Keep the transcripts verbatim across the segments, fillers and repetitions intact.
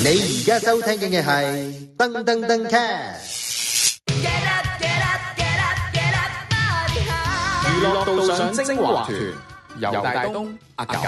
你而家收聽嘅係噔噔噔 cast。 娛樂道上精華團，由大東、阿感。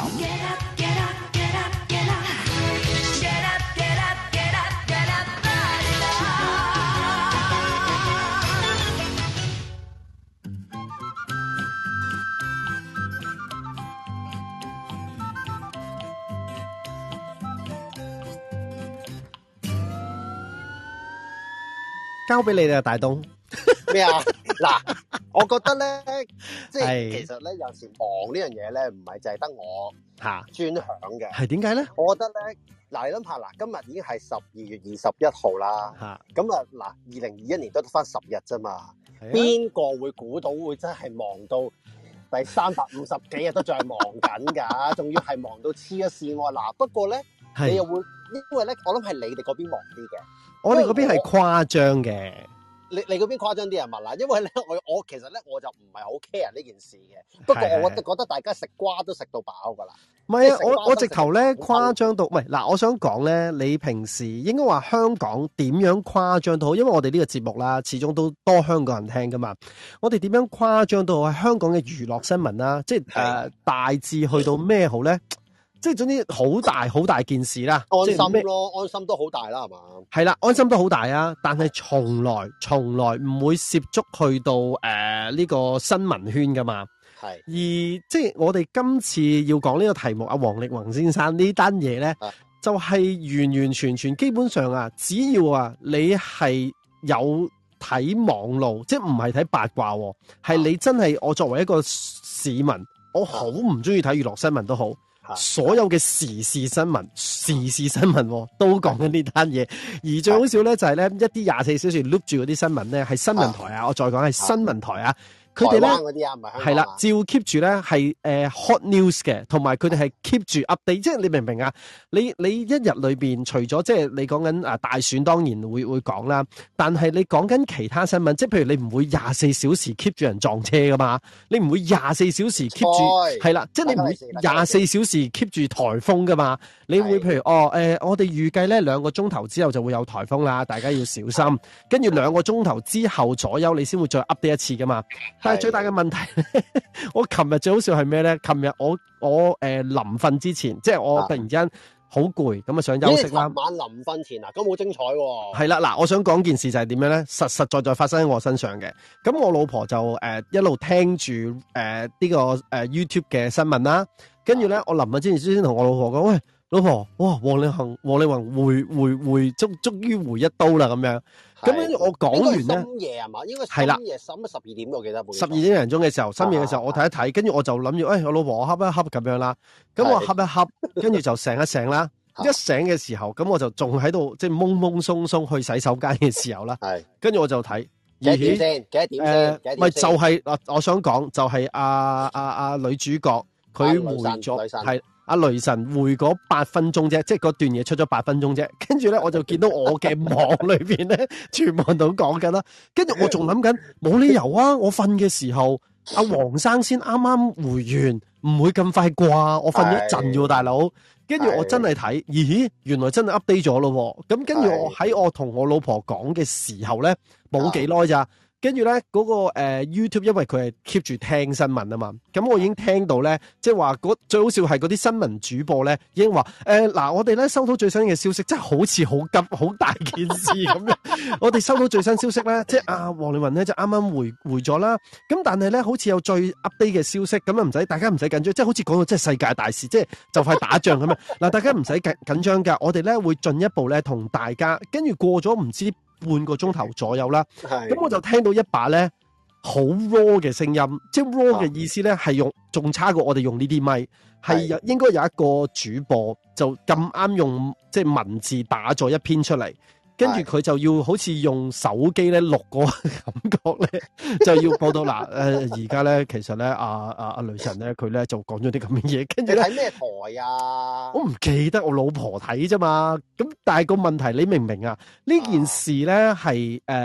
交俾你啦，大東。 咩啊？嗱，我覺得咧，即係其實咧，有時忙呢樣嘢咧，唔係淨係得我吓專享嘅。 係點解咧？ 我覺得咧，嗱，你諗下，嗱，今日已經係十二月二十一號啦。吓，咁啊，嗱，二零二一年都得翻十日啫嘛。邊個會估到會真係忙到第三百五十幾日都仲係忙緊噶？仲要係忙到黐一線喎。嗱，不過咧，你又會，因為咧，我諗係你哋嗰邊忙啲嘅。我哋嗰邊係誇張嘅，你你嗰邊誇張啲人物啦，因為咧我我其實咧我就唔係好 care 呢件事嘅，不過我覺得大家食瓜都食到飽噶啦。唔係啊，我我直頭咧誇張到，唔係嗱，我想講咧，你平時應該話香港點樣誇張到好，因為我哋呢個節目啦，始終都多香港人聽噶嘛，我哋點樣誇張到係香港嘅娛樂新聞啦，即係誒、呃、大致去到咩好咧？即係總之好大好大件事啦，安心咯，安心都好大啦，係嘛？係啦，安心都好大啊，但係從來從來唔會涉足去到誒呢、呃這個新聞圈噶嘛。係而即係我哋今次要講呢個題目，阿王力宏先生呢單嘢咧，就係、是、完完全全基本上啊，只要啊你係有睇網路，即係唔係睇八卦，係你真係我作為一個市民，我好唔中意睇娛樂新聞都好。所有嘅時事新聞、時事新聞都講緊呢單嘢，而最好笑咧就係咧一啲廿四小時 loop 住嗰啲新聞咧係新聞台啊，我再講係新聞台啊。佢哋咧係啦，照 keep 住咧係誒 hot news 嘅，同埋佢哋係 keep 住 update，即係你明唔明啊？你你一日裏邊除咗即係你講緊啊大選，當然會會講啦，但係你講緊其他新聞，即係譬如你唔會廿四小時 keep 住人撞車噶嘛，你唔會廿四小時 keep 住係啦，即係你唔會廿四小時 keep 住颱風噶嘛，你會譬如哦誒、呃，我哋預計咧兩個鐘頭之後就會有颱風啦，大家要小心，跟住兩個鐘頭之後左右你先會再 update 一次噶嘛。但係最大嘅問題咧，我琴日最好笑係咩咧？琴日我我誒臨瞓之前，即係我突然之間好攰，咁啊想休息啦。晚臨瞓前啊，咁好精彩喎！係啦，嗱，我想講件事就係點樣咧？實實在在發生喺我身上嘅。咁我老婆就誒、呃、一路聽住誒呢個誒 YouTube 嘅新聞啦，跟住咧我臨瞓之前先同我老婆講，喂，老婆，哇，王力宏，王力宏回回回，終終於回一刀啦咁樣。咁跟住我講完咧，深夜係嘛？應該係深夜，深十二點我記得。十二點零鐘嘅時候，深夜嘅時候，我睇一睇，跟住我就諗住，誒、哎，我老婆我恰一恰咁樣啦。咁我恰一恰，跟住就醒一醒啦。一醒嘅時候，咁我就仲喺度，即係懵懵鬆鬆去洗手間嘅時候啦。係。跟住我就睇。幾點先？幾多點先？誒，咪就係、是、啊！我想講就係阿阿阿女主角佢回咗係。阿雷神回嗰八分鐘啫，即係嗰段嘢出咗八分鐘啫。跟住咧，我就見到我嘅網裏邊咧，全部都講緊啦。跟住我仲諗緊，冇理由啊！我瞓嘅時候，阿黃生先啱啱回完，唔會咁快啩？我瞓咗一陣啫，大佬。跟住我真係睇，咦？原來真係 update 咗咯。咁跟住我喺我同我老婆講嘅時候咧，冇幾耐咋。跟住咧嗰個誒、呃、YouTube，因為佢係 keep 住聽新聞啊嘛，咁我已經聽到咧，即係話最好笑係嗰啲新聞主播咧，已經話誒嗱，我哋咧收到最新嘅消息，真係好似好急好大件事咁樣。我哋收到最新消息咧，即係阿王力宏咧就啱啱回回咗啦。咁但係咧好似有最 update 嘅消息，咁啊唔使大家唔使緊張，即係好似講到即係世界大事，即係就快打仗咁樣。嗱，大家唔使緊緊張㗎，我哋咧會進一步咧同大家，跟住過咗唔知半個鐘頭左右啦，咁我就聽到一把咧好 raw 嘅聲音，即係 raw 嘅意思咧係用仲差過我哋用呢啲咪，係有應該有一個主播就咁啱用即係文字打咗一篇出嚟，跟住佢就要好似用手機咧錄個感覺咧，就要報道嗱誒而家咧其實咧阿阿阿雷神咧佢咧就講咗啲咁嘅嘢，跟住咧睇咩台啊？我唔記得，我老婆睇啫嘛。咁但係個問題你明唔明啊？呢件事咧係誒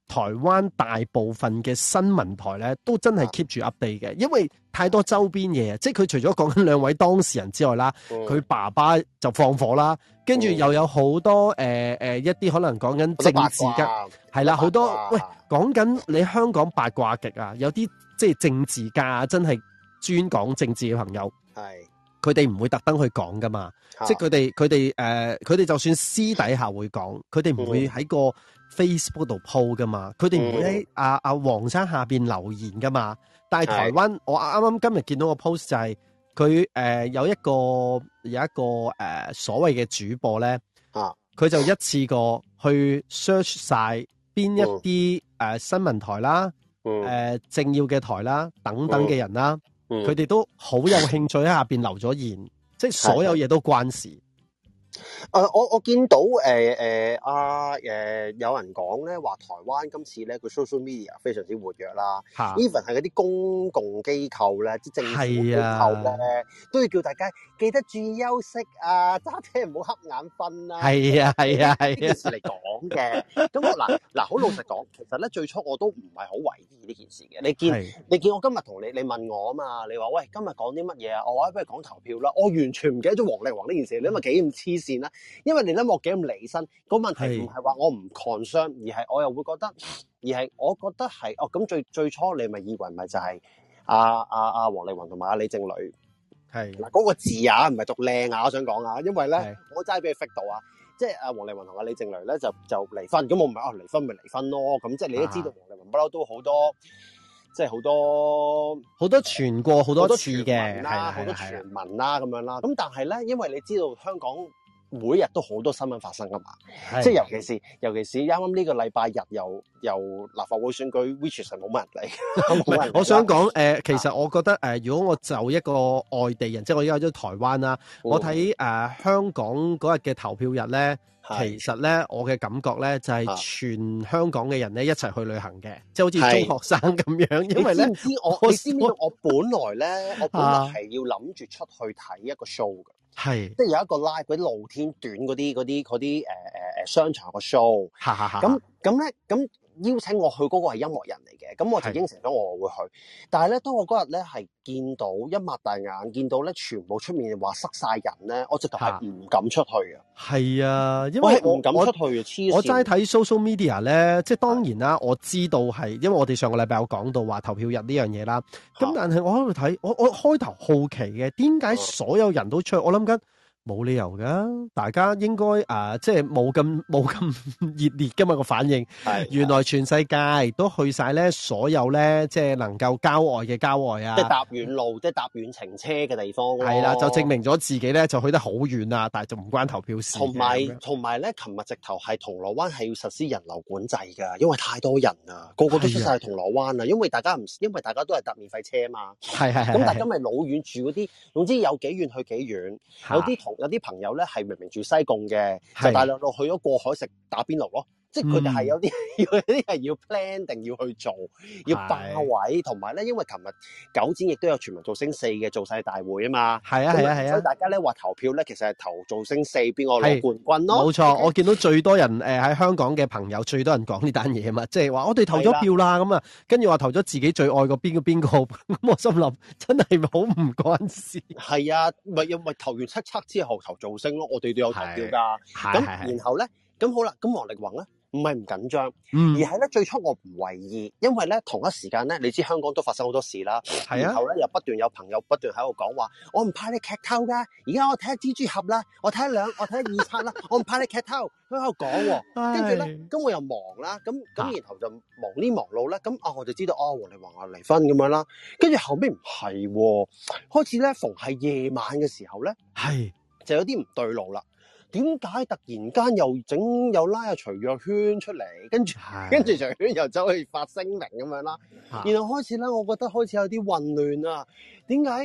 台灣大部分嘅新聞台咧，都真係 keep 住 update 嘅，因為太多周邊嘢，即係佢除咗講緊兩位當事人之外啦，佢、嗯、爸爸就放火啦，跟住又有好多誒誒、呃呃、一啲可能講緊政治嘅，係啦，好多喂講緊你香港八卦極啊，有啲即係政治家真係專講政治嘅朋友，係佢哋唔會特登去講噶嘛，即係佢哋佢哋誒佢哋就算私底下會講，佢哋唔會喺個 Facebook 度 po 噶嘛，佢哋唔會喺阿阿黃生下邊留言噶嘛。但係台灣，我啱啱今日見到個 post 就係佢誒有一個有一個誒、呃、所謂嘅主播咧，啊，佢就一次過去 search 晒邊一啲誒、呃、新聞台啦，誒、嗯呃、政要嘅台啦等等嘅人啦，佢、嗯、哋都好有興趣喺下邊留咗言，即係所有嘢都關事。 誒、呃，我我見到誒誒阿誒有人講咧，話台灣今次咧個 social media 非常之活躍啦 ，even 係嗰啲公共機構咧，啲政府機構咧、啊，都要叫大家記得注意休息啊，揸車唔好瞌眼瞓啊。係啊係啊係啊，呢件事嚟講嘅。咁我嗱嗱好老實講，其實咧最初我都唔係好懷疑呢件事嘅。你見你見我今日同你你問我啊嘛，你話喂今日講啲乜嘢啊？我話不如講投票啦。我完全唔記得咗王力宏呢件事，你諗下幾咁黐線啦。因為你諗我幾咁離身，個問題唔係話我唔 concern，而係我又會覺得，而係我覺得係哦咁最最初你咪以為咪就係阿阿阿王力宏同埋阿李靜蕾係嗱嗰個字啊，唔係讀靚啊，我想講啊，因為咧我齋俾佢 fit 到啊，即係阿王力宏同阿李靜蕾咧就就離婚，咁我唔係啊離婚咪離婚咯，咁即係你都知道王力宏不嬲都好多。即係好多好多傳過好多次嘅，啦，好多傳聞啦咁樣啦。咁但係咧，因為你知道香港每日都好多新聞發生噶嘛，即係尤其是尤其是啱啱呢個禮拜日又又立法會選舉 ，which 係冇乜人嚟。冇人。我想講誒、呃，其實我覺得誒、呃，如果我就一個外地人，即係我而家喺咗台灣啦，嗯、我睇誒、呃、香港嗰日嘅投票日咧。其實咧，我嘅感覺咧就係、是、全香港嘅人咧一齊去旅行嘅，即係好似中學生咁樣。因為咧，你知唔知我？你知唔知我本來咧，我本來係要諗住出去睇一個 show 嘅，係即係有一個 live 嗰啲露天短嗰啲嗰啲嗰啲誒誒誒商場個 show。咁咁咧咁。邀請我去嗰個係音樂人嚟嘅，咁我就應承咗我會去。但係咧，當我嗰日咧係見到一擘大眼，見到咧全部出面話塞晒人咧，我直頭係唔敢出去嘅。係啊，因為我唔敢出去啊，黐線！我齋睇 social media 咧，即係當然啦，我知道係因為我哋上個禮拜有講到話投票日呢樣嘢啦。咁但係我喺度睇，我我開頭好奇嘅，點解所有人都出去？我諗緊。冇理由噶，大家應該誒、呃，即係冇咁冇咁熱烈噶嘛個反應。係原來全世界都去晒咧，所有咧即係能夠郊外嘅郊外啊，即係搭遠路，即係搭遠程車嘅地方。係啦，就證明咗自己咧就去得好遠啊，但係就唔關投票事。同埋同埋咧，琴日直頭係銅鑼灣係要實施人流管制噶，因為太多人啊，個個都出晒銅鑼灣啊，因為大家唔因為大家都係搭免費車嘛。係係係。咁大家咪老遠住嗰啲，總之有幾遠去幾遠，有啲同。有啲朋友咧係明明住西貢嘅，就大量路去咗過海食打邊爐咯。即係佢哋係有啲，有啲係要 plan 定要去做，要霸位，同埋咧，因為琴日九展亦都有全民造星四嘅造勢大會啊嘛。係啊係啊係啊，所以大家咧話投票咧，其實係投造星四邊個攞冠軍咯。冇錯，我見到最多人誒喺、呃、香港嘅朋友，最多人講呢單嘢啊嘛，即係話我哋投咗票啦，咁啊，跟住話投咗自己最愛個邊個邊個，咁我心諗真係好唔關事。係啊，咪又咪投完七測之後投造星咯，我哋都有投票㗎。咁然後咧，咁好啦，咁王力宏咧。唔係唔緊張，嗯、而係咧最初我唔為意，因為咧同一時間咧，你知香港都發生好多事啦，啊、然後咧又不斷有朋友不斷喺度講話，我唔怕你劇透噶，而家我睇下蜘蛛俠啦，我睇下兩，我睇下二刷啦，我唔怕你劇透，佢喺度講，跟住咧，咁我又忙啦，咁咁然後就忙呢忙路咧，咁啊我就知道哦，王力宏啊離婚咁樣啦，跟住後尾唔係，開始咧逢係夜晚嘅時候咧，係就有啲唔對路啦。點解突然間又整又拉阿徐若瑄出嚟，跟住跟住徐若瑄又走去發聲明咁樣啦，然後開始咧，我覺得開始有啲混亂啊！點解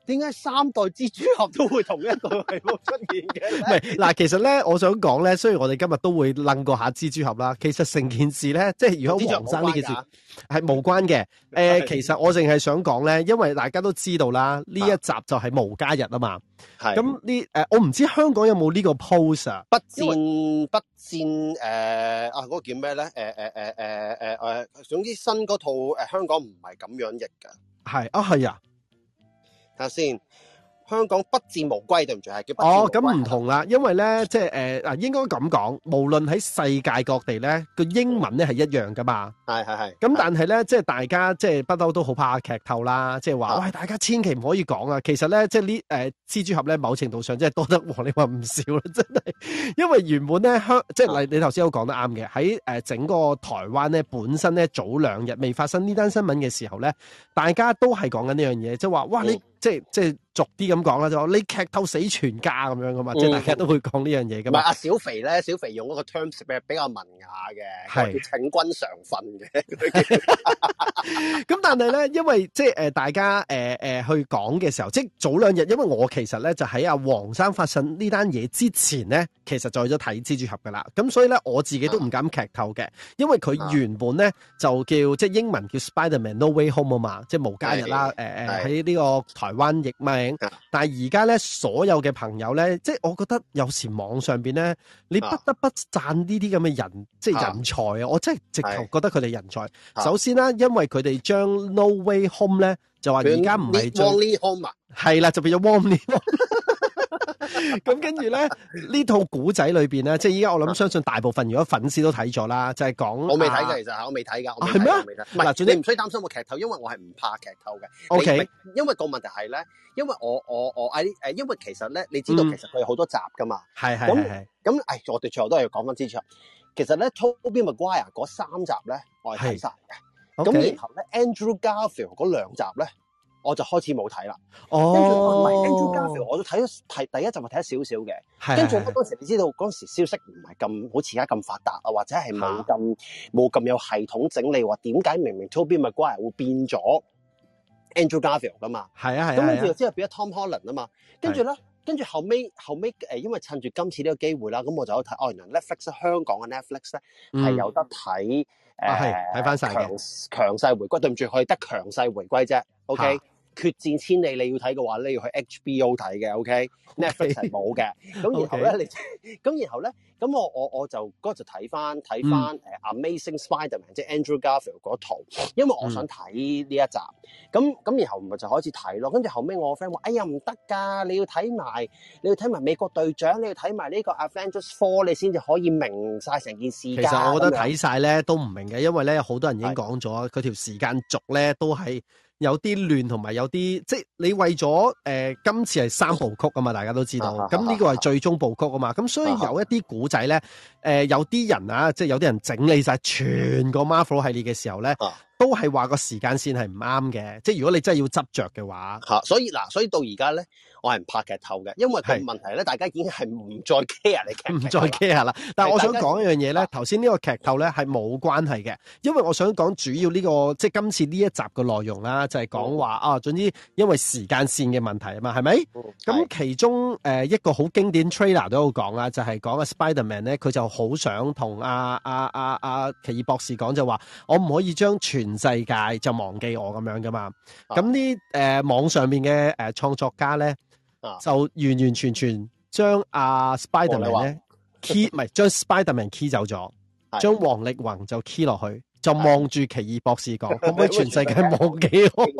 點解三代蜘蛛俠都會同一個題目出現嘅？ 唔係嗱，其實咧，我想講咧，雖然我哋今日都會楞過下蜘蛛俠啦，其實成件事咧，即係如果黃生呢件事係無關嘅。誒、呃，其實我淨係想講咧，因為大家都知道啦，呢一集就係無家日啊嘛。係。咁呢？誒，我唔知香港有冇呢個 post 啊？不戰不戰誒、呃、啊！嗰、那個叫咩咧？誒誒誒誒誒誒，總之新嗰套誒、呃、香港唔係咁樣譯㗎。係啊，係啊。睇下先。香港不戰無歸，對唔住，係叫不戰無歸。 哦，咁唔同啦，因為咧，即係誒嗱，應該咁講，無論喺世界各地咧，個英文咧係一樣噶嘛。 係係係。咁但係咧，即係大家即係不嬲都好怕劇透啦，即係話喂，大家千祈唔可以講啊。其實咧，即係呢誒蜘蛛俠咧，某程度上即係多得黃你話唔少啦，真係。因為原本咧香，即係你你頭先都講得啱嘅，喺誒整個台灣咧本身咧早兩日未發生呢單新聞嘅時候咧，大家都係講緊呢樣嘢，即係話哇你。嗯即係即係俗啲咁講啦，就話你劇透死全家咁樣噶嘛，嗯、即係大家都會講呢樣嘢噶嘛。 唔係阿小肥咧，小肥用嗰個 terms 比比較文雅嘅，係請君常訓嘅。 咁但係咧，因為即係誒大家誒誒、呃、去講嘅時候，即係早兩日，因為我其實咧就喺阿黃生發生呢單嘢之前咧，其實就去咗睇蜘蛛俠噶啦。咁所以咧，我自己都唔敢劇透嘅，因為佢原本咧就叫即係英文叫 Spider-Man No Way Home 啊嘛，即係無家日啦。誒誒喺呢個台。台灣譯名，但係而家咧，所有嘅朋友咧，即係我覺得有時網上邊咧，你不得不讚呢啲咁嘅人，即係人才啊！我真係直頭覺得佢哋人才。首先啦，因為佢哋將 No Way Home 咧，就話而家唔係將 Only Home 啊， 係啦，就變咗 Only Home。咁跟住咧，呢套古仔裏邊咧，即係依家我諗相信大部分如果粉絲都睇咗啦，就係、是、講我未睇嘅，其實我未睇噶， 係咩？ 唔係，你唔需要擔心我劇透，因為我係唔怕劇透嘅。O、okay. K， 因為個問題係咧，因為我我我誒誒，因為其實咧，你知道其實佢有好多集噶嘛，係係係。咁誒，我哋最後都係要講翻蜘蛛俠。其實咧 ，Tobey Maguire 嗰三集咧，我係睇晒嘅。咁、okay. 然後咧 ，Andrew Garfield 嗰兩集咧。我就開始冇睇啦。哦，跟住唔係 Andrew Garfield，我都睇咗睇第一集，咪睇咗少少嘅。跟住咧嗰時，你知道嗰時消息唔係咁好似而家咁發達啊，或者係冇咁冇咁有系統整理，話點解明明 Tobey Maguire 會變咗 Andrew Garfield 噶嘛？係啊係啊。咁跟住之後變咗 Tom Holland 啊嘛。跟住咧，跟住後尾後尾誒，因為趁住今次呢個機會啦，咁我就有睇哦，原來 Netflix 香港嘅 Netflix 咧係、嗯、有得睇誒，睇翻晒嘅強勢回歸。對唔住，可以得強勢回歸啫。OK。決戰千里你要睇嘅話咧，要去 H B O 睇嘅 ，OK？Netflix 係冇嘅。咁然後咧，你咁然後咧，咁我我我就嗰日就睇翻睇翻誒 Amazing Spider-Man，即係 Andrew Garfield 嗰套，因為我想睇呢一集。咁咁然後咪就開始睇咯。跟住後尾我個 friend 話：哎呀唔得㗎，你要睇埋你要睇埋美國隊長，你要睇埋呢個 Avengers Four，你先至可以明晒成件事。其實我覺得睇晒咧都唔明嘅，因為咧好多人已經講咗，佢條時間軸咧都係。有啲亂同埋有啲，即係你為咗誒、呃、今次係三部曲啊嘛，大家都知道，咁呢個係最終部曲啊嘛，咁所以有一啲古仔咧，誒、呃、有啲人啊，即係有啲人整理晒全個 Marvel 系列嘅時候咧，都係話個時間線係唔啱嘅，即係如果你真係要執着嘅話，嚇，所以嗱，所以到而家咧，我係唔拍劇透嘅，因為個問題咧，大家已經係唔再 care 你劇，唔再 care 啦。但係我想講一樣嘢咧，頭先呢個劇透咧係冇關係嘅，因為我想講主要呢、這個即係今次呢一集嘅內容啦，就係講話啊，總之因為時間線嘅問題啊嘛，係咪？咁、嗯、其中誒、呃、一個好經典 trailer 都有講啦，就係、是、講阿 Spider-Man 咧，佢就好想同阿阿阿阿奇異博士講，就話我唔可以將全世界就忘記我咁樣噶嘛。咁呢誒網上面嘅誒創作家咧。啊、就完完全全將阿 Spider-Man 咧 key 唔係將 Spider-Man key 走咗，將王力宏就 key 落去，就望住奇異博士講，可唔可以全世界忘記我？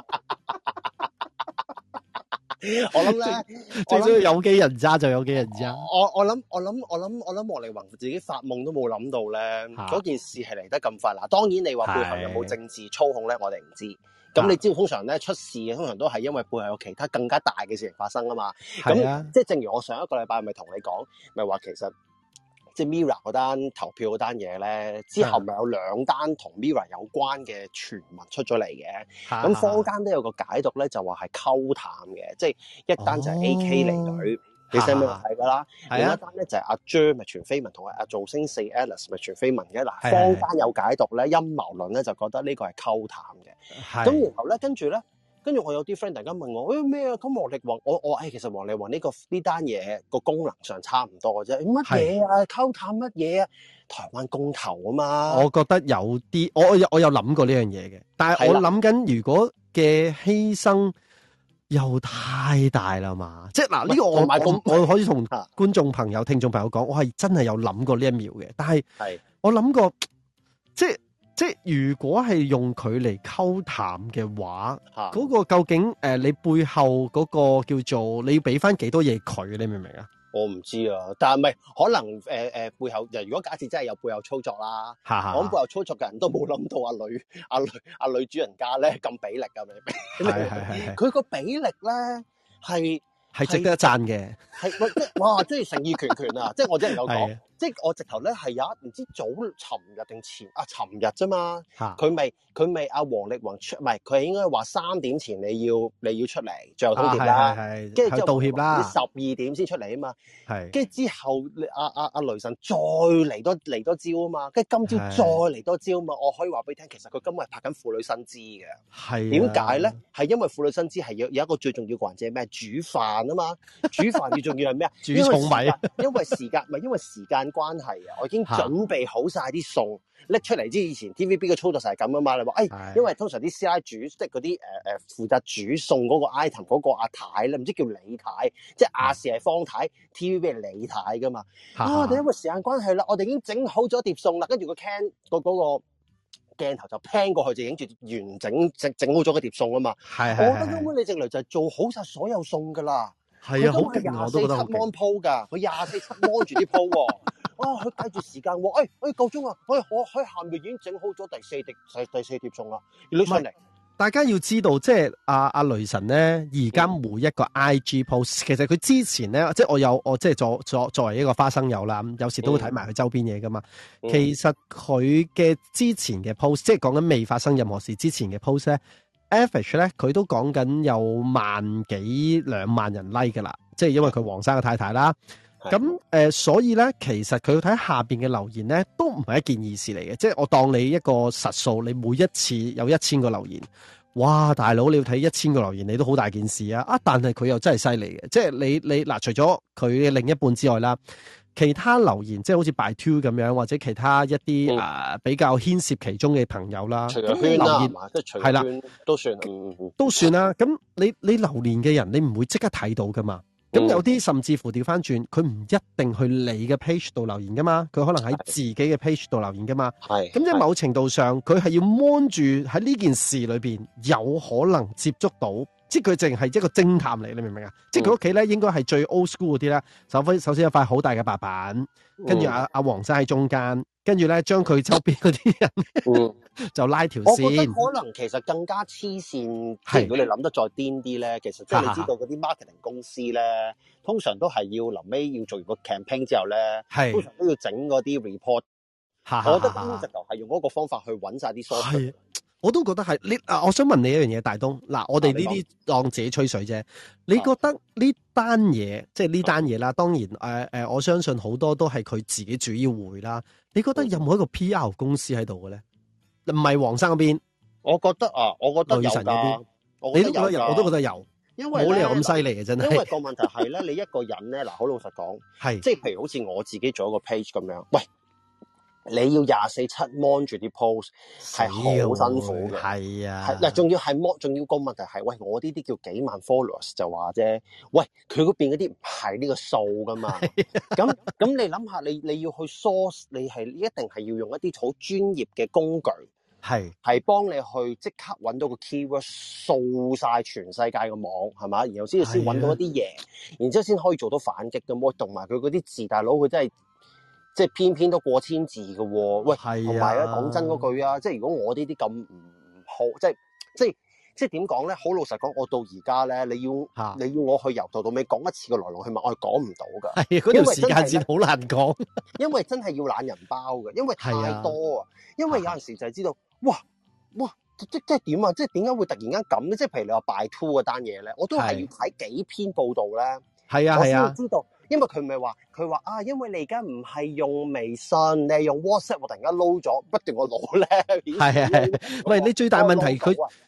我諗咧，最主要有機人渣就有機人渣。我我諗我諗我諗我諗王力宏自己發夢都冇諗到咧，嗰、啊、件事係嚟得咁快。嗱，當然你話背後有冇政治操控咧，我哋唔知。咁你知道通常咧出事嘅通常都係因為背後有其他更加大嘅事情發生啊嘛。咁、啊、即係正如我上一個禮拜咪同你講，咪話其實即係 Mirror 嗰單投票嗰單嘢咧，之後咪有兩單同 Mirror 有關嘅傳聞出咗嚟嘅。咁、啊、坊間都有個解讀咧，就話係溝淡嘅，即係一單就係 A K 離隊。哦你使唔使睇噶啦？另一單咧就係阿 Jer 咪傳緋聞，同埋阿造星四 Alice 咪傳緋聞嘅。嗱，坊間有解讀咧，陰謀論咧就覺得呢個係溝淡嘅。咁然後咧，跟住咧， 跟住我有啲 friend 突然間問我，誒咩啊？咁王力宏，我我誒、哎、其實王力宏呢、呢個呢單嘢個功能上差唔多嘅啫。乜嘢啊？溝淡乜嘢啊？台灣公投啊嘛。我覺得有啲，我我有我有諗過呢樣嘢嘅，但係我諗緊如果嘅犧牲又太大啦嘛。即係嗱，呢、呢個我我我可以同觀眾朋友、聽眾朋友講，我係真係有諗過呢一秒嘅。但係我諗過，即係。即係如果係用佢嚟溝淡嘅話，嗰、啊嗰個究竟誒、呃、你背後嗰個叫做你要俾翻幾多嘢佢？你明唔明啊？我唔知啊，但係唔係可能誒誒、呃、背後，如果假設真係有背後操作啦，我諗背後操作嘅人都冇諗到阿女阿女阿女主人家咧咁俾力㗎，明唔明？係係係，佢個俾力咧係係值得一讚嘅，係即哇，即係誠意拳拳啊！即係我真係有講。即係我直頭咧係有一唔知早尋日定前啊尋日啫嘛，佢咪佢咪阿王力宏出，唔係佢係應該話三點前你要你要出嚟最後通牒啦，跟住之後道歉啦，十二點先出嚟啊嘛，跟住之後阿阿阿雷神再嚟多嚟多招啊嘛，跟住今朝再嚟多招啊嘛，我可以話俾你聽，其實佢今日係拍緊婦女新姿嘅，係點解咧？係因為婦女新姿係有有一個最重要嘅環節係咩？煮飯啊嘛，煮飯最重要係咩啊？煮糙米，因為時間唔係因為時間關係啊，我已經準備好晒啲餸拎出嚟。之以前 T V B 嘅操作就係咁啊嘛，你話誒，因為通常啲師奶煮即係嗰啲誒誒負責煮餸嗰個 item 嗰個阿太咧，唔知叫李太，即係亞視係方太 ，T V B 係李太噶嘛。啊，我哋因為時間關係啦，我哋已經整好咗碟餸啦，跟住個 can 個嗰個鏡頭就 pan 過去就影住完整整整好咗個碟餸啊嘛。係係係，我覺得根本你直嚟就係做好晒所有餸噶啦。係啊，好勁啊！我都覺得好勁。佢廿四七 mon 鋪㗎，佢廿四七 mon 住啲鋪喎。啊，佢計住時間喎。誒、哎、誒、哎、夠鐘啊！我我喺下面已經整好咗第四碟第四碟餸啦。要拎上嚟。大家要知道，即係阿阿雷神咧，而家每一個 I G post，、嗯、其實佢之前咧，即係我有我即係作作作為一個花生友啦，有時都會睇埋佢周邊嘢噶嘛、嗯。其實佢嘅之前嘅 post，即係講緊未發生任何事之前嘅 post 咧。average 咧，佢都講緊有萬幾兩萬人 like 噶啦，即係因為佢黃生嘅太太啦。咁誒、呃，所以咧，其實佢睇下邊嘅留言咧，都唔係一件易事嚟嘅。即係我當你一個實數，你每一次有一千個留言，哇，大佬你要睇一千個留言，你都好大件事啊！啊，但係佢又真係犀利嘅，即係你你嗱，除咗佢嘅另一半之外啦。其他留言即係好似 by two 咁樣，或者其他一啲誒、嗯呃、比較牽涉其中嘅朋友啦，咁你留言係啦，都算都算啦。咁你你留言嘅人，你唔會即刻睇到噶嘛？咁、嗯、有啲甚至乎調翻轉，佢唔一定去你嘅 page 度留言噶嘛，佢可能喺自己嘅 page 度留言噶嘛。係咁，即係某程度上，佢係要 mon 住喺呢件事裏邊有可能接觸到。即係佢淨係一個偵探嚟，你明唔明啊？即係佢屋企咧，應該係最 old school 嗰啲咧。首先，首先有塊好大嘅白板，跟住阿阿黃生喺中間，跟住咧將佢周邊嗰啲人、嗯、就拉條線。我覺得可能其實更加黐線。即係如果你諗得再癲啲咧，其實即係你知道嗰啲 marketing 公司咧，通常都係要臨尾要做完個 campaign 之後咧，通常都要整嗰啲 report。我覺得根本直頭係用嗰個方法去揾晒啲 source。我都覺得係你啊！我想問你一樣嘢，大東嗱，我哋呢啲當自己吹水啫。你覺得呢單嘢，即係呢單嘢啦？當然誒誒、呃，我相信好多都係佢自己主要會啦。你覺得有冇一個 P R 公司喺度嘅咧？唔係黃生嗰邊，我覺得啊，我覺得有㗎。你都覺得有，我都覺得有，因為冇理由咁犀利嘅真係。因為個問題係咧，你一個人咧嗱，好老實講，係即係譬如好似我自己做一個 page 咁樣，喂。你要廿四七 mon 住啲 post 係好辛苦嘅，係啊，係嗱，仲要係 mon，仲要個問題係，喂，我呢啲叫幾萬 followers 就話啫，喂，佢嗰邊嗰啲唔係呢個數噶嘛，咁咁你諗下，你你要去 source，你係一定係要用一啲好專業嘅工具，係係幫你去即刻揾到個 keyword，掃晒全世界嘅網係嘛，然後先至先揾到一啲嘢，然之後先可以做到反擊嘅喎，同埋佢嗰啲字大佬佢真係。即係偏偏都過千字嘅喎、哦，喂，同埋咧講真嗰句啊，即係如果我呢啲咁唔好，即係即係即係點講咧？好老實講，我到而家咧，你要你要我去由頭到尾講一次個來龍去脈，我係講唔到㗎。係嗰條時間線好難講，因為真係要懶人包嘅，因為太多啊。因為有陣時就係知道，哇哇，即即係點啊？即係點解會突然間咁咧？即係譬如你話 buy two 嗰單嘢咧，我都係要睇幾篇報道咧，係啊係啊，我先知道。因為佢咪話，佢話啊，因為你而家唔係用微信，你係用 WhatsApp，我突然間撈咗，不斷我攞咧。係係係，喂，你最大問題佢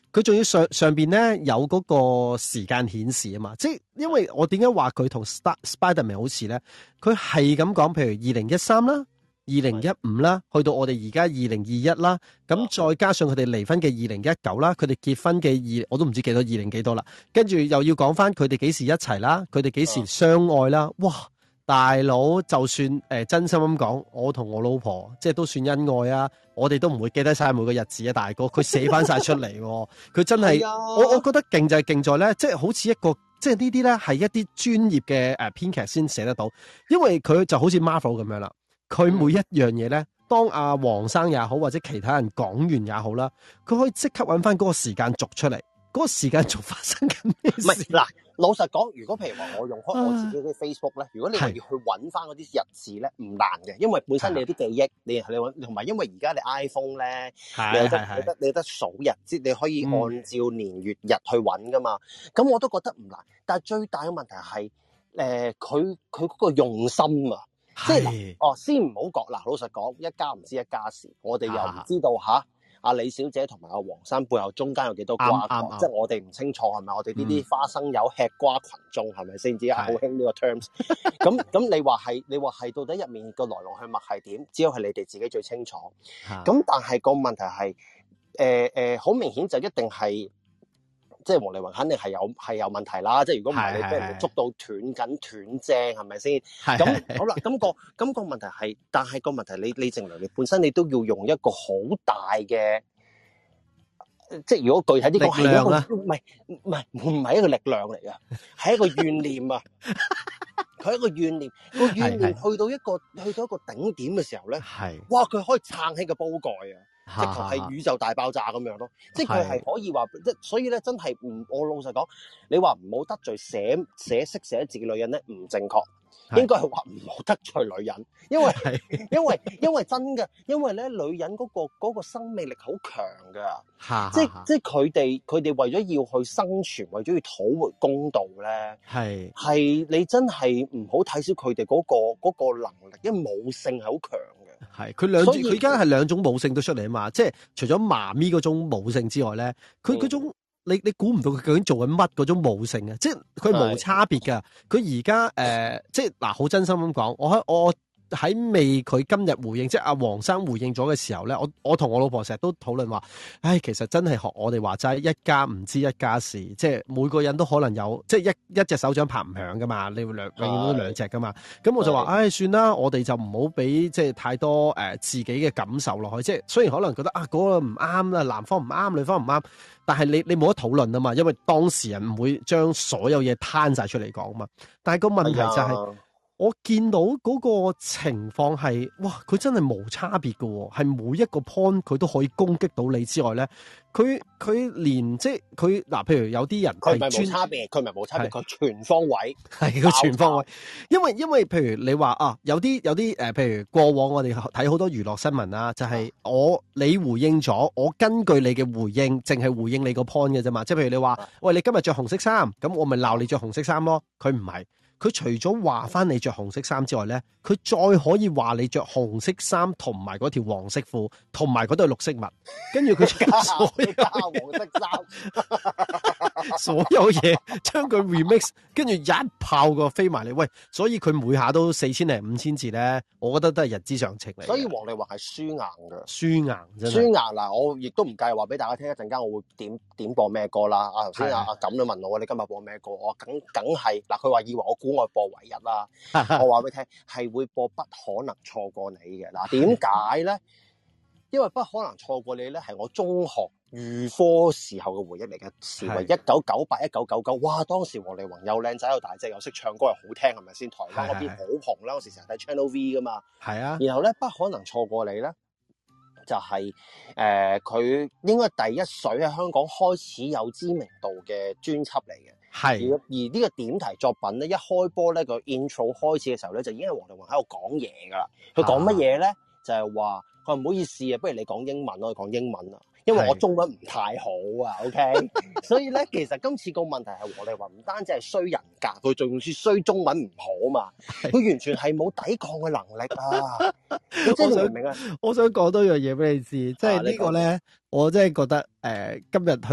佢仲要上上邊咧有嗰個時間顯示啊嘛，即係因為我點解話佢同 Spiderman 好似咧？佢係咁講，譬如二零一三啦。二零一五啦，去到我哋而家二零二一啦，咁再加上佢哋離婚嘅二零一九啦，佢哋結婚嘅二我都唔知幾多二零幾多啦，跟住又要講翻佢哋幾時一齊啦，佢哋幾時相愛啦，哇！大佬就算誒、呃、真心咁講，我同我老婆即係都算恩愛啊，我哋都唔會記得晒每個日子啊，大哥，佢寫翻晒出嚟，佢真係我我覺得勁就係勁在咧，即係好似一個即係呢啲咧係一啲專業嘅誒編劇先寫得到，因為佢就好似 Marvel 咁樣啦。佢每一樣嘢咧，當阿黃生也好，或者其他人講完也好啦，佢可以即刻揾翻嗰個時間軸出嚟，嗰、嗰個時間軸發生緊咩事？唔係嗱， 老實講，如果譬如話我用開我自己嘅 Facebook 咧、啊，如果你話要去揾翻嗰啲日子咧，唔難嘅，因為本身你有啲記憶，你你揾同埋因為而家你 iPhone 咧，你有得你得你得數日，即你可以按照年月日去揾噶嘛。咁、嗯、我都覺得唔難，但係最大嘅問題係誒佢佢嗰個用心啊。即係哦，先唔好講嗱，老實講，一家唔知一家事，我哋又唔知道吓阿、啊、李小姐同埋阿黃生背後中間有幾多瓜葛，即係我哋唔清楚係咪？我哋呢啲花生友吃瓜群眾係咪先？至係好興呢個 terms。咁咁你話係，你話係到底入面個來龍去脈係點？只有係你哋自己最清楚。咁但係個問題係，誒、呃、誒，好、呃、明顯就一定係。即係王力宏肯定係有係有問題啦，即係如果唔係你俾人哋捉到斷緊斷正係咪先？咁好啦，咁、那個咁、那個問題係，但係個問題你你正良你本身你都要用一個好大嘅，即係如果具體啲講係一個唔係唔係唔係一個力量嚟嘅，係一個怨念啊！佢係一個怨念，個怨念去到一個去到一個頂點嘅時候咧，係哇佢可以撐起個煲蓋啊！直頭係宇宙大爆炸咁樣咯，即係佢係可以話，即所以咧真係唔，我老實講，你話唔好得罪寫寫識寫字嘅女人咧，唔正確，應該係話唔好得罪女人，因為因為因為真嘅，因為咧女人嗰個嗰個生命力好強噶，即係即係佢哋佢哋為咗要去生存，為咗要討回公道咧，係係你真係唔好睇小佢哋嗰個嗰個能力，因為母性係好強嘅。 係佢兩佢而家係兩種母性都出嚟啊嘛，即係除咗媽咪嗰種母性之外咧，佢嗰種、嗯、你你估唔到佢究竟做緊乜嗰種母性啊！即係佢冇差別噶，佢而家誒即係嗱好真心咁講，我喺我喺未佢今日回應，即係阿黃生回應咗嘅時候咧，我我同我老婆成日都討論話，唉，其實真係學我哋話齋，一家唔知一家事，即係每個人都可能有，即係一一隻手掌拍唔響噶嘛，你會兩永遠都兩隻噶嘛。咁我就話，唉，算啦，我哋就唔好俾即係太多誒、呃、自己嘅感受落去。即係雖然可能覺得啊嗰、嗰個唔啱啦，男方唔啱，女方唔啱，但係你你冇得討論啊嘛，因為當事人唔會將所有嘢攤晒出嚟講啊嘛。但係個問題就係、係。我見到嗰個情況係，哇！佢真係冇差別㗎喎，係每一個 point 佢都可以攻擊到你之外咧，佢佢連即係佢嗱，譬如有啲人佢唔係冇差別，佢唔係冇差別，佢全方位係佢全方位。因為因為譬如你話啊，有啲有啲誒、呃，譬如過往我哋睇好多娛樂新聞啊，就係、是、我你回應咗，我根據你嘅回應，淨係回應你個 point 嘅啫嘛。即係譬如你話，喂，你今日着紅色衫，咁我咪鬧你着紅色衫咯。佢唔係。佢除咗話翻你着紅色衫之外咧，佢再可以話你着紅色衫同埋嗰條黃色褲，同埋嗰對綠色襪，跟住佢加所有加黃色衫，所有嘢將佢 remix， 跟住一炮個飛埋嚟。喂，所以佢每下都四千零五千字咧，我覺得都係日之常情嚟。 所以王力宏係輸硬㗎， 輸硬真係輸硬嗱，我亦都唔介意話俾大家聽，一陣間我會點點播咩歌啦。啊頭先阿阿錦都問我，你今日播咩歌？我梗梗係嗱，佢話以為我估我播唯一啦，我話俾你聽係會播不可能錯過你嘅。嗱，點解咧？因為不可能錯過你咧，係我中學預科時候嘅回憶嚟嘅，時為一九九八、一九九九，哇！當時王力宏又靚仔又大隻又識唱歌又好聽，係咪先？台灣嗰邊好紅啦，嗰時成日睇 Channel V 噶嘛。係啊。然後咧，不可能錯過你咧，就係誒佢應該第一水喺香港開始有知名度嘅專輯嚟嘅。係。而而呢個點題作品咧，一開波咧個 intro 開始嘅時候咧，就已經係王力宏喺度講嘢噶啦。佢講乜嘢咧？就係話。佢話唔好意思啊，不如你講英文咯，講英文啊，因為我中文唔太好啊 ，OK， 所以咧，其實今次個問題係王力宏唔單止係衰人格，佢仲要衰中文唔好嘛，佢完全係冇抵抗嘅能力啊！你真係明唔明啊？ 我想講多樣嘢俾你知，即係呢個咧，我真係覺得誒、呃，今日去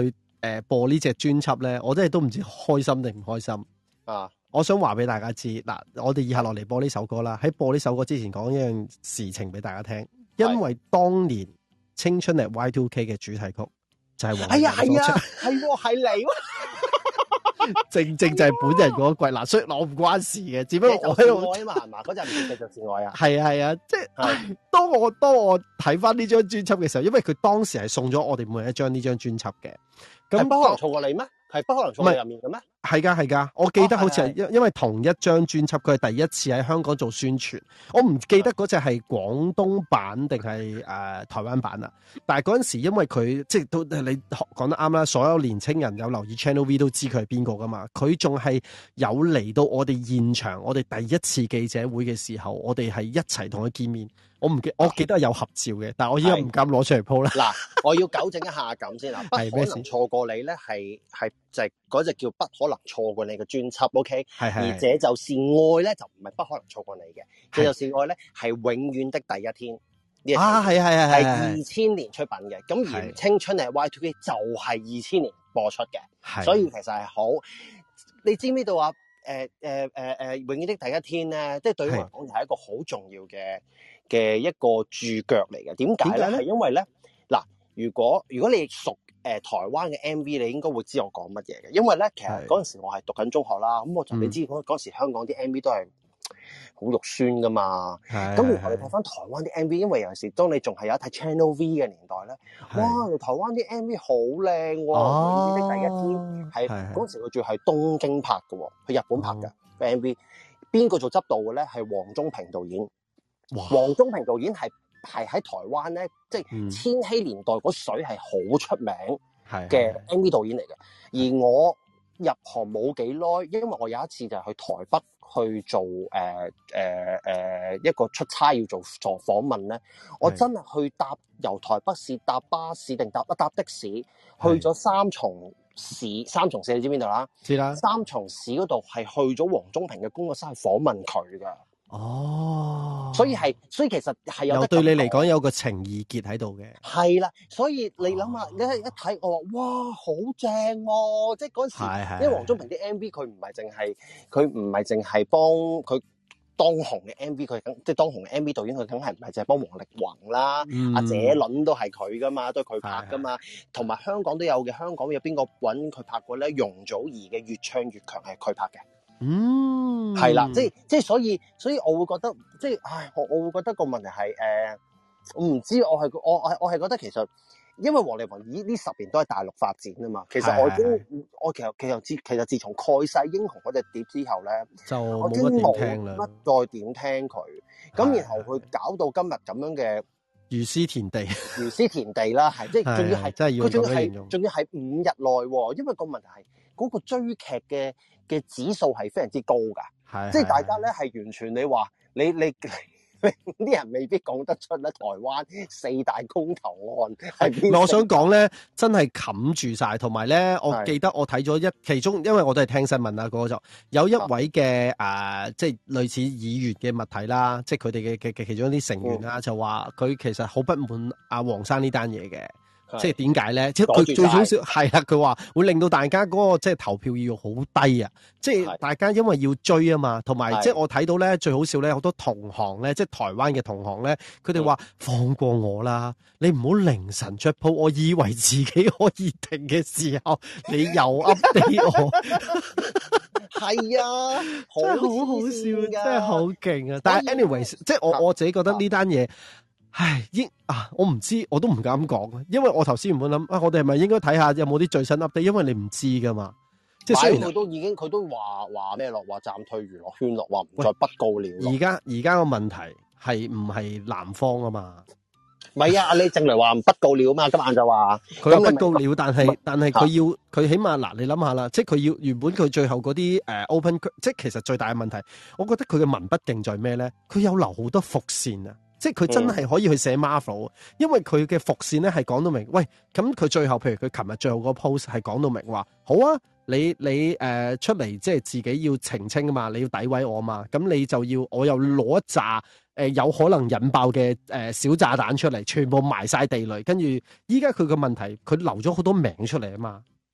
誒播呢隻專輯咧，我真係都唔知開心定唔開心啊！我想話俾大家知，嗱，我哋以下落嚟播呢首歌啦。喺播呢首歌之前，講一樣事情俾大家聽，因為當年青春係 Y 二 K 嘅主題曲就係黃麗玲所唱， 係喎係你。 正正就係本人嗰季嗱，所以我唔關事嘅，只不過我喺度愛啊嘛，係嘛？嗰陣唔係繼續是愛啊， 係啊係啊，即係當我當我睇翻呢張專輯嘅時候，因為佢當時係送咗我哋每人一張呢張專輯嘅，咁不可能錯過你咩？係不可能錯過你入面嘅咩？ 係噶係噶，我記得好似係因因為同一張專輯，佢係第一次喺香港做宣傳，我唔記得嗰隻係廣東版定係誒台灣版啦。但係嗰陣時因為佢即係都你講得啱啦，所有年青人有留意 Channel V 都知佢係邊個噶嘛。佢仲係有嚟到我哋現場，我哋第一次記者會嘅時候，我哋係一齊同佢見面。我唔記，我記得有合照嘅，但係我依家唔敢攞出嚟鋪啦。嗱， 我要糾正一下咁先啦，不可能錯過你咧，係係就係嗰隻叫不可能錯過你嘅專輯 ，OK？ 係係。而這就是愛咧，就唔係不可能錯過你嘅，這就是愛咧，係永遠的第一天。 啊，係係係係。 係二千年出品嘅，咁而青春係 Y 二 K 就係二千年播出嘅，所以其實係好。你知唔知道啊？誒誒誒誒，永遠的第一天咧，即係對於我嚟講係一個好重要嘅嘅一個注腳嚟嘅。點解咧？係因為咧，嗱，如果如果你熟誒、呃、台灣嘅 M V，你應該會知我講乜嘢嘅。因為咧，其實嗰陣時我係讀緊中學啦，咁我就你知嗰嗰時香港啲 M V 都係好肉酸噶嘛。咁然後你睇翻台灣啲 M V，因為有陣時當你仲係有一睇 Channel V 嘅年代咧，哇！台灣啲 M V 好靚喎，永遠的第一天係嗰陣時佢仲係東京拍嘅喎，去日本拍嘅。M V 邊個做執導嘅咧？係黃宗平導演。黃宗平導演係係喺台灣咧，即係千禧年代嗰水係好出名嘅 M V 導演嚟嘅。而我入行冇幾耐，因為我有一次就係去台北去做誒誒誒一個出差要做做訪問咧，我真係去搭由台北市搭巴士定搭一搭的士去咗三重市，三重市你知邊度啦？知啦。三重市嗰度係去咗黃宗平嘅工作室去訪問佢噶。哦，所以係，所以其實係有得對你嚟講有個情意結喺度嘅。係啦，所以你諗下，你一睇我話，哇，好正喎！即係嗰陣時，因為黃宗平啲 M V 佢唔係淨係，佢唔係淨係幫佢當紅嘅 M V，佢梗即係當紅嘅 M V 導演，佢梗係唔係淨係幫王力宏啦，阿謝倫都係佢噶嘛，都係佢拍噶嘛，同埋香港都有嘅。香港有邊個揾佢拍過咧？容祖兒嘅《越唱越強》係佢拍嘅。嗯，係啦，即係即係，所以所以我會覺得，即係，唉，我我會覺得個問題係，誒、呃，我唔知，我係我我我係覺得其實，因為王力宏呢呢十年都喺大陸發展啊嘛，其實我已經，我其實其實自其實自從蓋世英雄嗰隻碟之後咧，就冇乜點聽啦，乜再點聽佢，咁然後佢搞到今日咁樣嘅如斯田地，如斯田地啦，係即係仲要係，佢仲要係仲要係五日內，因為個問題係嗰個追劇嘅。嘅指數係非常之高㗎，即係大家咧係完全你話你你你啲人未必講得出咧。台灣四大公投案係邊？我想講咧，真係冚住晒，同埋咧，我記得我睇咗一其中，因為我都係聽新聞啦，嗰個就有一位嘅誒、呃，即係類似議員嘅物體啦，即係佢哋嘅嘅嘅其中一啲成員啦，嗯、就話佢其實好不滿阿黃生呢單嘢嘅。即係點解咧？即係佢最少少係啦，佢話會令到大家嗰個即係投票意欲好低啊！即係大家因為要追啊嘛，同埋即係我睇到咧最好笑咧，好多同行咧，即係台灣嘅同行咧，佢哋話放過我啦，你唔好凌晨出鋪，我以為自己可以停嘅時候，你又 update 我，係啊，真係好好笑，真係好勁啊！但係 anyways，即係我我自己覺得呢單嘢。唉，應啊，我唔知，我都唔敢講，因為我頭先原本諗啊，我哋係咪應該睇下有冇啲最新 update？因為你唔知噶嘛，即係雖然佢都已經佢都話話咩咯，話暫退娛樂圈咯，話唔再不告了。而家而家個問題係唔係南方啊嘛？唔係啊，你正來話不告了啊嘛，今晚就話佢不告了，但係但係佢要佢起碼嗱，你諗下啦，即係佢要原本佢最後嗰啲誒 open，即係其實最大嘅問題，我覺得佢嘅文筆勁在咩咧？佢有留好多伏線啊！即係佢真係可以去寫 Marvel，因為佢嘅伏線咧係講到明，喂，咁佢最後譬如佢琴日最後個 post 係講到明話，好啊，你你誒、呃、出嚟即係自己要澄清啊嘛，你要詆毀我啊嘛，咁你就要我又攞一紮誒、呃、有可能引爆嘅誒、呃、小炸彈出嚟，全部埋晒地雷，跟住依家佢個問題，佢留咗好多名出嚟啊嘛。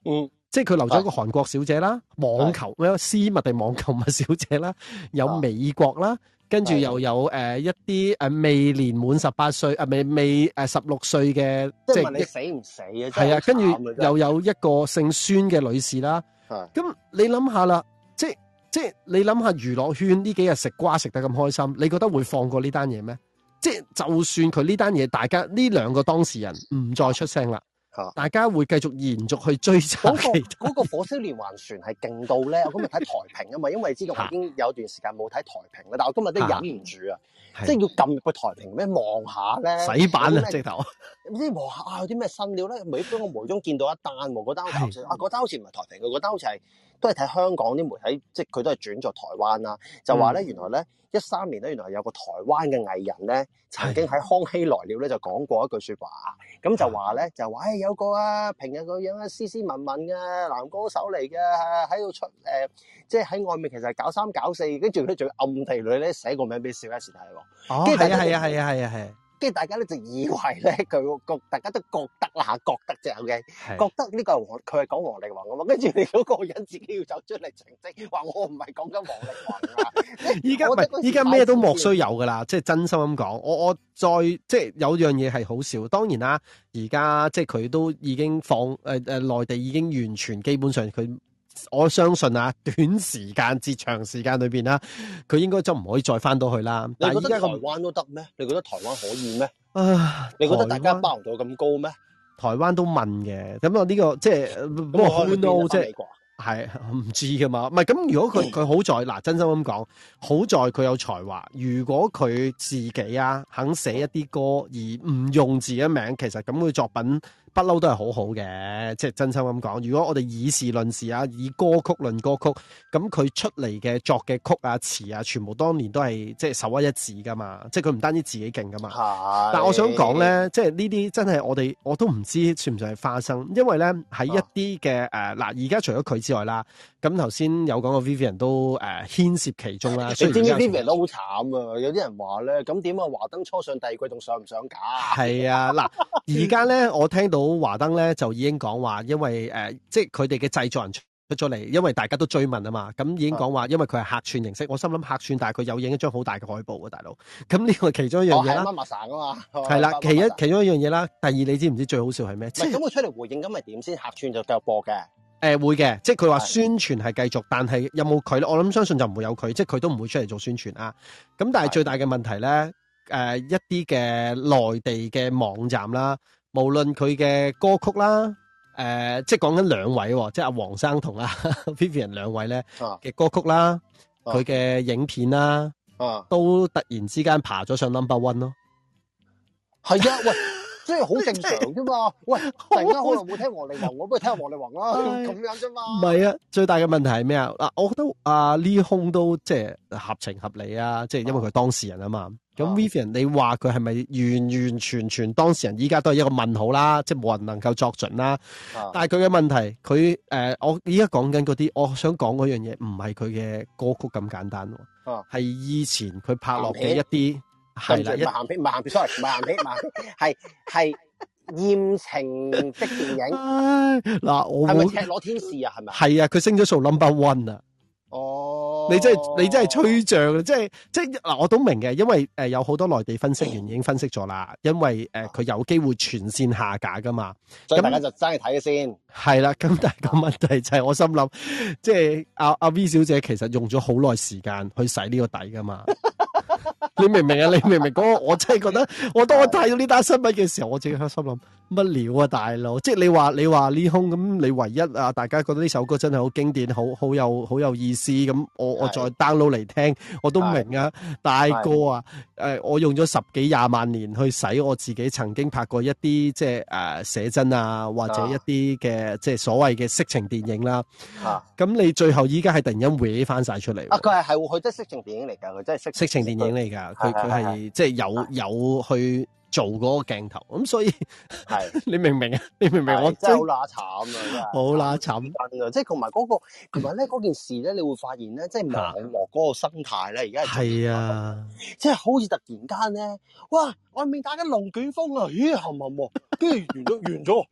嗯， 即係佢留咗一個韓國小姐啦，網球咩絲襪定網球襪小姐啦，有美國啦。跟住又有誒、呃、一啲誒未年滿十八歲啊，未未誒十六歲嘅，即係問你死唔死啊？係啊，跟住又有一個姓孫嘅女士啦。咁你諗下啦，即係即係你諗下娛樂圈呢幾日食瓜食得咁開心，你覺得會放過呢單嘢咩？即係就算佢呢單嘢，大家呢兩個當事人唔再出聲啦。大家會繼續延續去追查其他。 嗰個火燒連環船係勁到咧，我今日睇台評啊嘛，因為你知道我已經有段時間冇睇台評啦，但我今日都忍唔住啊，即係要撳入個台評咩望下咧， 洗版啊直頭， 唔知望下啊有啲咩新料咧，每當我無中見到一單喎，嗰單好似啊嗰單好似唔係台評嘅，嗰單好似係都係睇香港啲媒體，即係佢都係轉咗台灣啦，就話咧原來咧一三年咧原來有個台灣嘅藝人咧曾經喺康熙來了咧就講過一句説話，咁就話咧就話誒有個啊平日個樣啊斯斯文文嘅男歌手嚟嘅，喺度出誒、呃、即係喺外面其實係搞三搞四，跟住咧仲要暗地裏咧寫個名俾小 S 睇喎。哦，係啊係啊係啊係啊係。跟住大家咧就以為咧佢個大家都覺得啦嚇，覺得啫 OK，覺得呢個係黃佢係講黃力宏啊嘛，跟住你嗰個人自己要走出嚟澄清，話我唔係講緊黃力宏啊！依家唔係依家咩都莫須有噶啦，即係真心咁講。我我再即係有樣嘢係好笑，當然啦，而家即係佢都已經放誒誒內地已經完全基本上佢。我相信啊，短時間至長時間裏邊啦，佢應該就唔可以再翻到去啦。 你覺得台灣都得咩？你覺得台灣可以咩？啊，你覺得大家包容度咁高咩？ 台灣都問嘅，咁啊呢個即係不過好 no 即係係唔知噶嘛？唔係咁，如果佢佢好在嗱，真心咁講，好在佢有才華。如果佢自己啊肯寫一啲歌而唔用自己名，其實咁佢作品。不嬲都係好好嘅，即係真心咁講。如果我哋以事論事啊，以歌曲論歌曲，咁佢出嚟嘅作嘅曲啊、詞啊，全部當年都係即係首屈一指噶嘛。即係佢唔單止自己勁噶嘛。係。但係我想講咧，即係呢啲真係我哋我都唔知算唔算係花生，因為咧喺一啲嘅誒嗱，而家除咗佢之外啦，咁頭先有講過 Vivian 都誒、呃、牽涉其中啦。你知唔知 Vivian 都好慘啊？有啲人話咧，咁點啊？華燈初上第二季仲上唔上架？ 係啊，嗱，而家咧我聽到。華燈咧就已經講話，因為誒、呃，即係佢哋嘅製作人出咗嚟，因為大家都追問啊嘛，咁已經講話，因為佢係客串形式。我心諗客串，但係佢有影一張好大嘅海報啊，大佬。咁呢個係其中一樣嘢啦。媽媽生啊嘛，係啦，其一其中一樣嘢啦。第二，你知唔知最好笑係咩？咁佢出嚟回應，咁咪點先？客串就繼續播嘅。誒、 呃，會嘅，即係佢話宣傳係繼續，但係有冇佢咧？我諗相信就唔會有佢，即係佢都唔會出嚟做宣傳啊。咁但係最大嘅問題咧，誒、呃，一啲嘅內地嘅網站啦。無論佢嘅歌曲啦，誒、呃，即係講緊兩位，即係阿黃生同阿 Vivian 兩位咧嘅歌曲啦，佢、啊、嘅影片啦、啊，都突然之間爬咗上 number one 咯。 係啊，喂，即係好正常啫嘛。喂，突然間可能冇聽黃力宏，我不如聽下黃力宏啦，咁樣啫嘛。唔係啊，最大嘅問題係咩啊？嗱，我覺得阿 Lee Hong 都即係合情合理啊，即係因為佢係當事人啊嘛。咁 Vivian，你話佢係咪完完全全當事人？依家都係一個問號啦，即係冇人能夠作準啦。啊、但係佢嘅問題，佢誒、呃，我依家講緊嗰啲，我想講嗰樣嘢，唔係佢嘅歌曲咁簡單，係、啊、以前佢拍落嘅一啲係啦，一鹹片，唔係鹹片 ，sorry， 唔係鹹片，唔係係艷情的電影。嗱，我係咪赤裸天使啊？係咪？係啊，佢升咗數 number one 啊！哦，你真係你真係吹脹，即係即係嗱，我都明嘅，因為誒、呃、有好多內地分析員已經分析咗啦，因為誒佢、呃、有機會全線下架噶嘛，所以大家就爭去睇嘅先。係啦，咁但係個問題就係我心諗，即係阿阿 V 小姐其實用咗好耐時間去洗呢個底噶嘛。你明唔明啊？你明唔明嗰個？我真係覺得，我當我睇到呢單新聞嘅時候，我自己喺心諗乜料啊，大佬！即係你話你話呢空咁，你唯一啊，大家覺得呢首歌真係好經典，好好有好有意思咁，我我再 download 嚟聽，我都明啊，大哥啊，誒、呃，我用咗十幾廿萬年去洗我自己曾經拍過一啲即係誒寫真啊，或者一啲嘅即係所謂嘅色情電影啦。咁、啊、你最後依家係突然間搲翻晒出嚟。啊，佢係係佢真係色情電影嚟噶，佢真係色色情電影嚟噶。佢佢係即係有有去做嗰個鏡頭，咁所以係你明唔明啊？你明唔明？我真係好乸慘啊！好乸慘啊！即係同埋嗰個，同埋咧嗰件事咧，你會發現咧，即係網絡嗰個生態咧，而家係啊，即係好似突然間咧，哇！外面打緊龍捲風啊，咦，冚冚喎，跟住完咗完咗，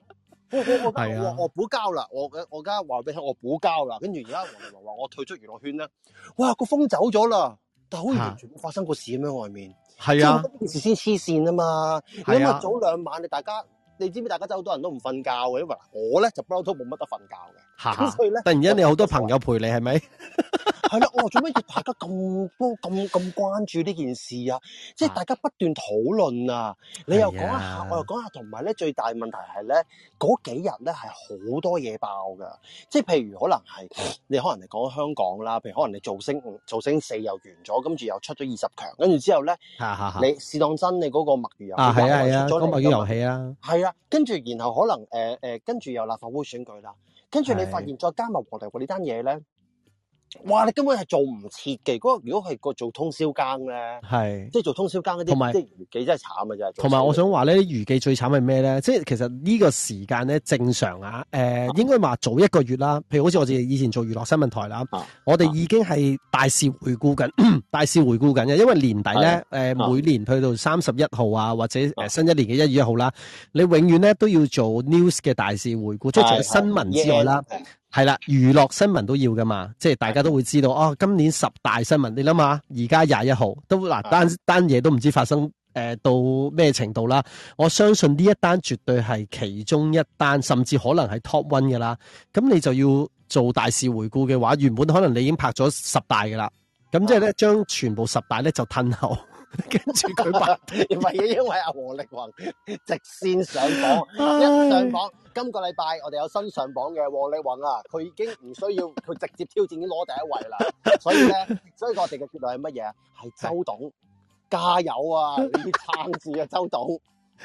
我我我我我補交啦，我我而家話俾你聽，我補交啦。跟住而家黃力宏話我退出娛樂圈咧，哇個風走咗啦，但係好似完全冇發生過事咁樣外面。係啊，呢件事先黐線啊嘛。咁啊早兩晚你大家。你知唔知大家真係好多人都唔瞓覺嘅，因為我咧就不嬲都冇乜得瞓覺嘅，咁所以咧突然間你好多朋友陪你係咪？係啦，我話做咩要大家咁多咁咁關注呢件事啊？即係大家不斷討論啊！你又講下，我又講下，同埋咧最大問題係咧嗰幾日咧係好多嘢爆㗎，即係譬如可能係你可能嚟講香港啦，譬如可能你造星造星四又完咗，跟住又出咗二十強，跟住之後咧，你試當真你嗰個墨魚遊戲啊係啊係啊，嗰墨魚遊戲啊，係啊。跟住，然後可能誒誒，跟住又立法會選舉啦，跟住你發現再加埋黃力宏呢單嘢咧，哇！你根本係做唔切嘅。嗰個如果係個做通宵更咧，係即係做通宵更嗰啲，即係娛記真係慘啊！真係。同埋我想話咧，娛記最慘係咩咧？即係其實呢個時間咧正常啊，誒、呃啊、應該話早一個月啦。譬如好似我哋以前做娛樂新聞台啦，啊、我哋已經係大事回顧緊，啊、大事回顧緊嘅。因為年底咧，誒、啊呃、每年去到三十一號啊，或者誒新一年嘅一月一號啦，你永遠咧都要做 news 嘅大事回顧，即係除咗新聞之外啦。係啦，娛樂新聞都要噶嘛，即係大家都會知道哦。今年十大新聞，你諗下，而家廿一號都嗱單單嘢都唔知發生誒、呃、到咩程度啦。我相信呢一單絕對係其中一單，甚至可能係 top one 噶啦。咁你就要做大事回顧嘅話，原本可能你已經拍咗十大噶啦，咁即係咧將全部十大咧就褪後。跟住佢拍，唔係因為阿黃力宏直線上榜，一上榜，今個禮拜我哋有新上榜嘅黃力宏啊，佢已經唔需要佢直接挑戰，已經攞第一位啦。所以咧，所以我哋嘅結論係乜嘢啊？係周董加油啊！你要撐住啊，周董！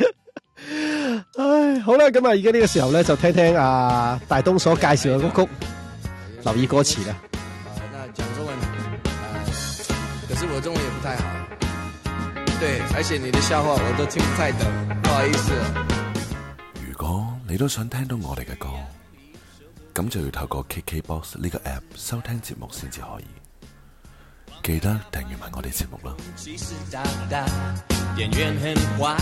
唉，好啦，咁啊，而家呢個時候咧，就聽聽阿大東所介紹嘅歌曲，留意歌詞啦。啊，那講中文，啊，可是我中文也不太好。對，而且你的笑話我都聽不太懂，不好意思。如果你都想聽到我哋嘅歌，咁就要透過 K K B O X 呢個 app 收聽節目先至可以。記得訂閱埋我哋節目啦。店員很壞，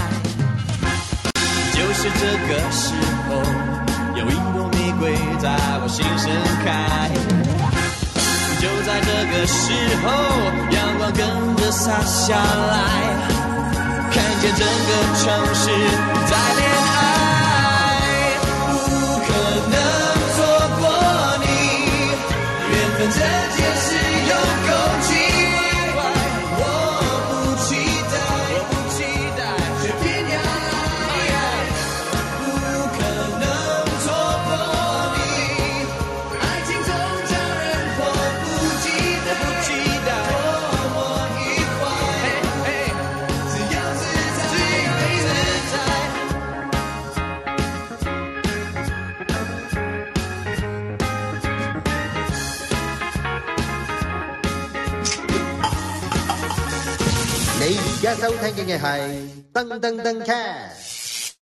就是這個時候，有一朵玫瑰在我心盛開。就在這個時候，陽光跟着灑下來，看見整個城市在戀愛，不可能錯過你，緣分這件事有夠奇怪，我不期待，我不期待，卻偏要愛，不可能錯過你，愛情總叫人迫不及待，迫不及待，多麼愉快，嘿嘿，自由自在，自由自在。 你而家收聽嘅係噔噔噔 cast。